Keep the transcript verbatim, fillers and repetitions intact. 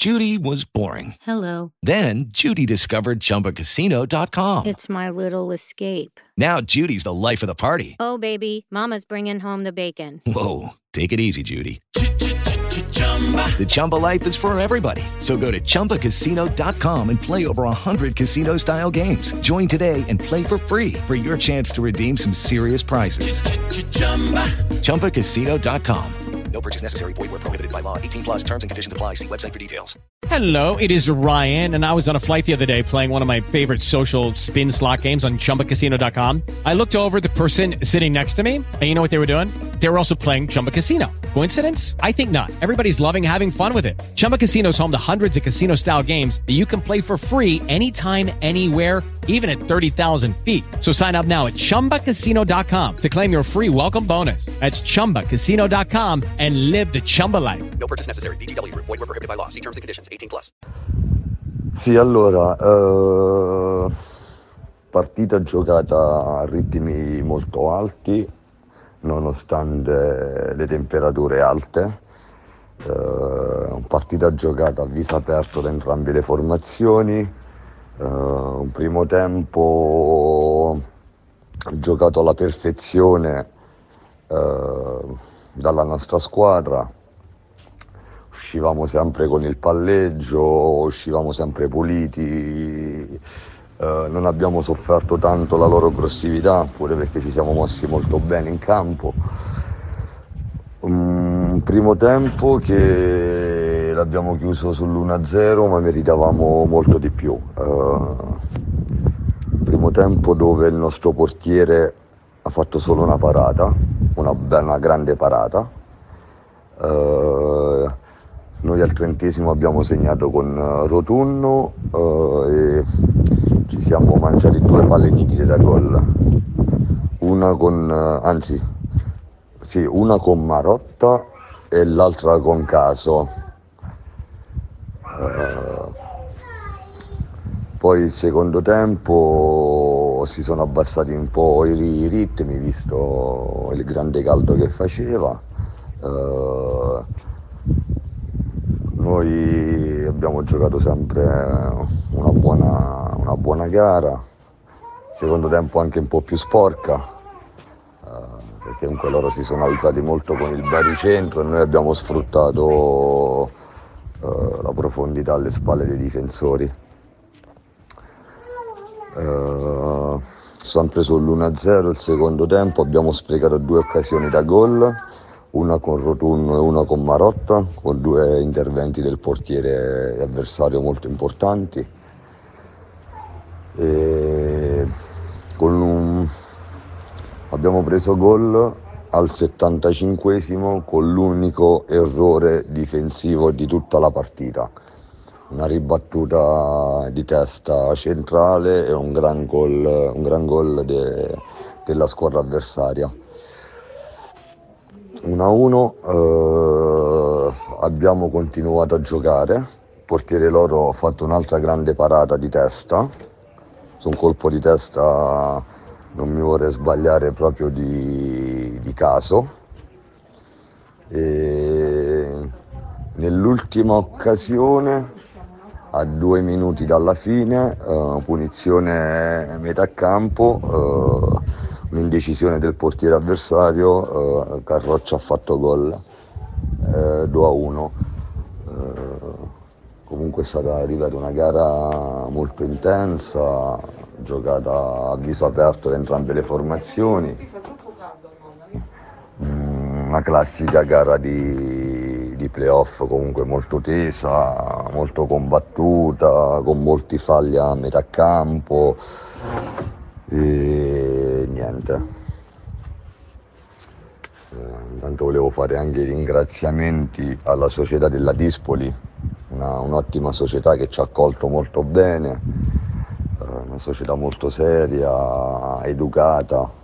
Judy was boring. Hello. Then Judy discovered Chumba Casino dot com. It's my little escape. Now Judy's the life of the party. Oh, baby, mama's bringing home the bacon. Whoa, take it easy, Judy. The Chumba life is for everybody. So go to Chumba Casino dot com and play over one hundred casino-style games. Join today and play for free for your chance to redeem some serious prizes. Chumba Casino dot com. No purchase necessary. Void where prohibited by law. eighteen plus terms and conditions apply. See website for details. Hello, it is Ryan, and I was on a flight the other day playing one of my favorite social spin slot games on Chumba Casino dot com. I looked over at the person sitting next to me, and you know what they were doing? They were also playing Chumba Casino. Coincidence? I think not. Everybody's loving having fun with it. Chumba Casino is home to hundreds of casino-style games that you can play for free anytime, anywhere, even at thirty thousand feet. So sign up now at Chumba Casino dot com to claim your free welcome bonus. That's Chumba Casino dot com and live the Chumba life. No purchase necessary. V G W. Void where prohibited by law. See terms and conditions. eighteen plus. Sì, allora, eh, partita giocata a ritmi molto alti, nonostante le temperature alte. Eh, partita giocata a viso aperto da entrambe le formazioni. Uh, un primo tempo giocato alla perfezione uh, dalla nostra squadra, uscivamo sempre con il palleggio, uscivamo sempre puliti, uh, non abbiamo sofferto tanto la loro aggressività, pure perché ci siamo mossi molto bene in campo. Un primo tempo che l'abbiamo chiuso sull'uno a zero, ma meritavamo molto di più. Uh, primo tempo dove il nostro portiere ha fatto solo una parata, una, una grande parata. Uh, noi al trentesimo abbiamo segnato con Rotunno uh, e ci siamo mangiati due palle nitide da gol. Una con, uh, anzi, sì, una con Marotta e l'altra con Caso. Uh, poi il secondo tempo si sono abbassati un po' i, i ritmi visto il grande caldo che faceva. Uh, noi abbiamo giocato sempre una buona, una buona gara, secondo tempo anche un po' più sporca, uh, perché comunque loro si sono alzati molto con il baricentro e noi abbiamo sfruttato uh, la profondità alle spalle dei difensori. Uh, sempre sull'uno a zero il secondo tempo abbiamo sprecato due occasioni da gol, una con Rotunno e una con Marotta, con due interventi del portiere avversario molto importanti. E con un... abbiamo preso gol al settantacinquesimo con l'unico errore difensivo di tutta la partita. Una ribattuta di testa centrale e un gran gol, un gran gol de, della squadra avversaria. uno a uno, eh, abbiamo continuato a giocare, il portiere loro ha fatto un'altra grande parata di testa, su un colpo di testa non mi vorrei sbagliare proprio di, di Caso. E nell'ultima occasione, a due minuti dalla fine, uh, punizione metà campo, uh, un'indecisione del portiere avversario, uh, Carroccia ha fatto gol, uh, due a uno. Uh, comunque è stata, ripeto, una gara molto intensa, giocata a viso aperto da entrambe le formazioni. Mm, una classica gara di, di playoff, comunque molto tesa, molto combattuta, con molti falli a metà campo e niente. Eh, intanto volevo fare anche i ringraziamenti alla società della Dispoli, una, un'ottima società che ci ha accolto molto bene, eh, una società molto seria, educata.